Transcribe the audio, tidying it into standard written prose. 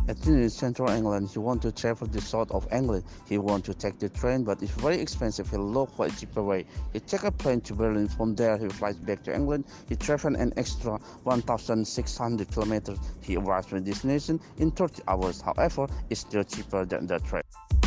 in central England. He want to travel the south of England. He want to take the train, but it's very expensive. He look for a cheaper way. He take a plane to Berlin. From there, he flies back to England. He travel an extra 1,600 kilometers. He arrives to destination in 30 hours. However, it's still cheaper than the train.